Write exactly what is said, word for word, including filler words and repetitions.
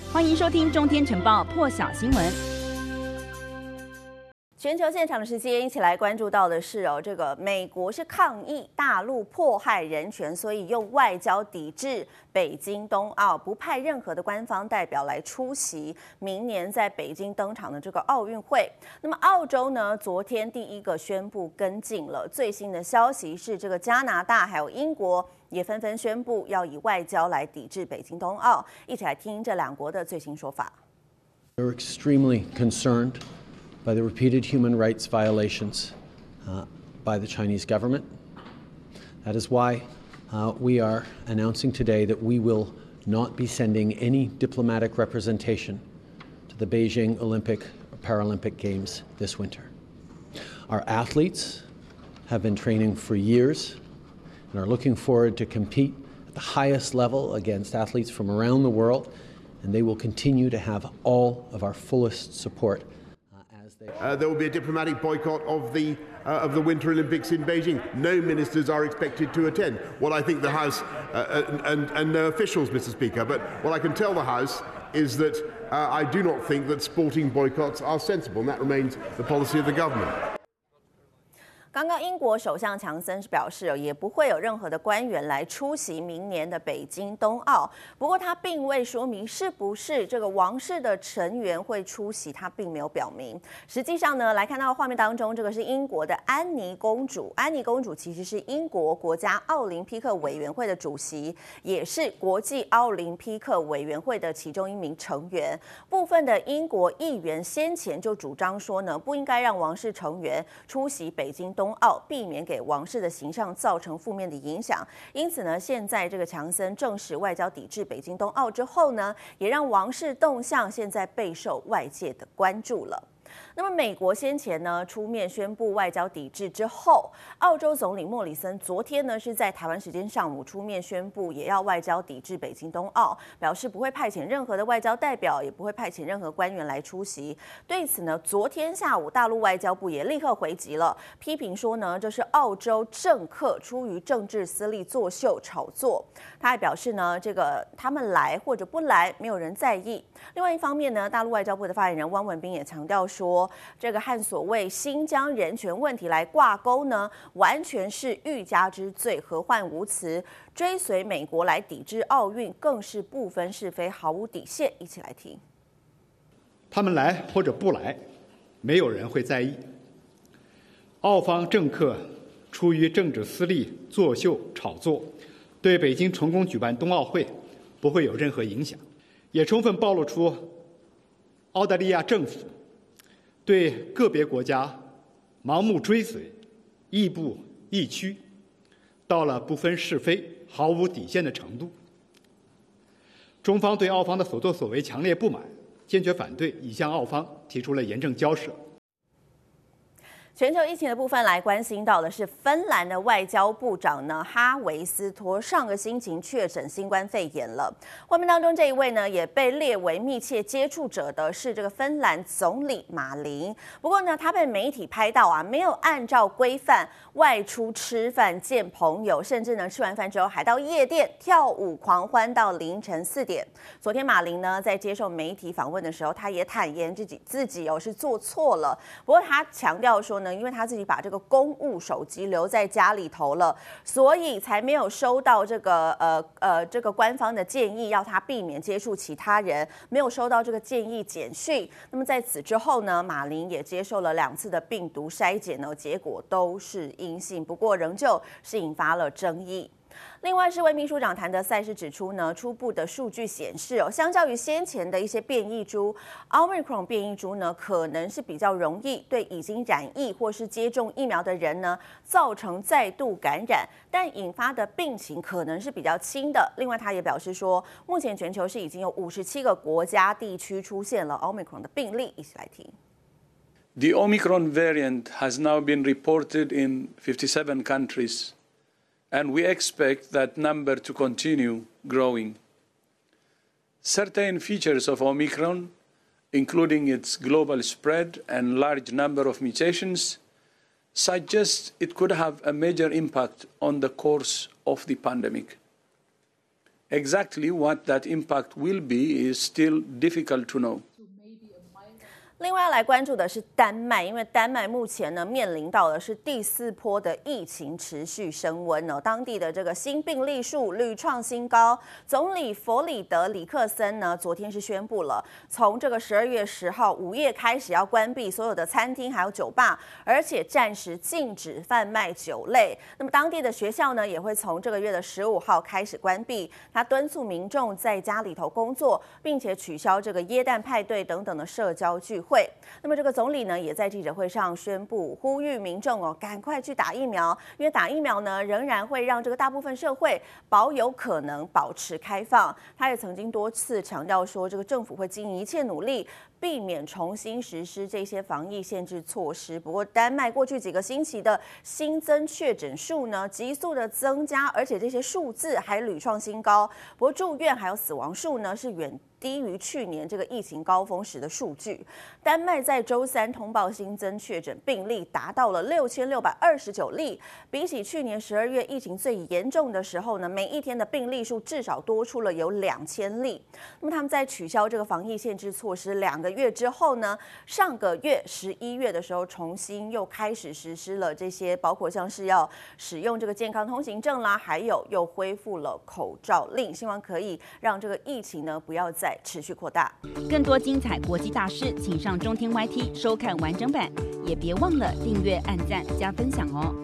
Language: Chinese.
歡迎收聽中天晨報破曉新聞。 全球現場的時間，一起來關注到的是哦，這個美國是抗議大陸迫害人權，所以用外交抵制北京冬奧，不派任何的官方代表來出席明年在北京登場的這個奧運會。那麼澳洲呢，昨天第一個宣布跟進了。最新的消息是，這個加拿大還有英國也紛紛宣布要以外交來抵制北京冬奧。一起來聽這兩國的最新說法。 We're extremely concerned by the repeated human rights violations uh, by the Chinese government. That is why uh, we are announcing today that we will not be sending any diplomatic representation to the Beijing Olympic or Paralympic Games this winter. Our athletes have been training for years and are looking forward to compete at the highest level against athletes from around the world, and they will continue to have all of our fullest support. Uh, there will be a diplomatic boycott of the uh, of the Winter Olympics in Beijing. No ministers are expected to attend. What I think the House uh, and, and no officials, Mister Speaker, but what I can tell the House is that uh, I do not think that sporting boycotts are sensible, and that remains the policy of the government. 剛剛英國首相強森是表示，也不會有任何的官員來出席明年的北京冬奧。不過他並未說明是不是這個王室的成員會出席，他並沒有表明。實際上呢，來看到畫面當中，這個是英國的安妮公主。安妮公主其實是英國國家奧林匹克委員會的主席，也是國際奧林匹克委員會的其中一名成員。部分的英國議員先前就主張說呢，不應該讓王室成員出席北京冬奧，避免給王室的形象造成負面的影響。因此呢，現在這個強森證實外交抵制北京冬奧之後呢，也讓王室動向現在備受外界的關注了。那麼美國先前呢出面宣布外交抵制之後，澳洲總理莫里森昨天呢是在台灣時間上午出面宣布，也要外交抵制北京冬奧，表示不會派遣任何的外交代表，也不會派遣任何官員來出席。對此呢，昨天下午大陸外交部也立刻回擊了，批評說呢這是澳洲政客出於政治私利作秀炒作。他還表示呢，這個他們來或者不來，沒有人在意。另外一方面呢，大陸外交部的發言人汪文斌也強調說，這個和所謂新疆人權問題來掛鈎呢，完全是欲加之罪，何患無辭。追隨美國來抵制奧運，更是不分是非，毫無底線。一起來聽。 他們來或者不來，沒有人會在意。澳方政客出於政治私利作秀炒作，對北京成功舉辦冬奧會不會有任何影響，也充分暴露出澳大利亞政府對個別國家盲目追隨、亦步亦趨，到了不分是非、毫無底線的程度。中方對澳方的所作所為強烈不滿，堅決反對，已向澳方提出了嚴正交涉。 全球疫情的部分來關心到的是，芬蘭的外交部長呢哈維斯托上個星期確診新冠肺炎了。畫面當中這一位呢也被列為密切接觸者的是這個芬蘭總理馬林。不過呢，他被媒體拍到啊，沒有按照規範外出吃飯見朋友，甚至呢吃完飯之後還到夜店跳舞狂歡到凌晨四點。昨天馬林呢在接受媒體訪問的時候，他也坦言自己自己哦是做錯了。不過他強調說呢，因為他自己把這個公務手機留在家裡頭了，所以才沒有收到這個呃呃這個官方的建議，要他避免接觸其他人，沒有收到這個建議簡訊。那麼在此之後呢，馬林也接受了兩次的病毒篩檢呢，結果都是陰性，不過仍舊是引發了爭議。另外，世衛秘書長譚德賽是指出呢，初步的數據顯示哦，相較於先前的一些變異株 ，Omicron 變異株呢，可能是比較容易對已經染疫或是接種疫苗的人呢，造成再度感染，但引發的病情可能是比較輕的。另外，他也表示說，目前全球是已經有五十七個國家地區出現了 Omicron 的病例，一起來聽。 The Omicron variant has now been reported in fifty-seven countries. And we expect that number to continue growing. Certain features of Omicron, including its global spread and large number of mutations, suggest it could have a major impact on the course of the pandemic. Exactly what that impact will be is still difficult to know. 另外要來關注的是丹麥，因為丹麥目前呢面臨到的是第四波的疫情持續升溫哦，當地的這個新病例數屢創新高。總理弗里德里克森呢昨天是宣布了，從這個十二月十號午夜開始要關閉所有的餐廳還有酒吧，而且暫時禁止販賣酒類。那麼當地的學校呢也會從這個月的十五號開始關閉。他敦促民眾在家裡頭工作，並且取消這個耶誕派對等等的社交聚會。會，那麼這個總理呢，也在記者會上宣布，呼籲民眾哦，趕快去打疫苗，因為打疫苗呢，仍然會讓這個大部分社會保有可能保持開放。他也曾經多次強調說，這個政府會盡一切努力，避免重新實施這些防疫限制措施。不過，丹麥過去幾個星期的新增確診數呢，急速的增加，而且這些數字還屢創新高。不過，住院還有死亡數呢，是遠低於去年這個疫情高峰時的數據。丹麥在周三通報新增確診病例達到了六千六百二十九例，比起去年十二月疫情最嚴重的時候呢，每一天的病例數至少多出了有兩千例。那麼他們在取消這個防疫限制措施兩個月之後呢，上個月十一月的時候重新又開始實施了這些，包括像是要使用這個健康通行證啦，還有又恢復了口罩令，希望可以讓這個疫情呢不要再持續擴大。 更多精彩國際大事，請上中天 Y T 收看完整版，也別忘了訂閱、按讚、加分享哦。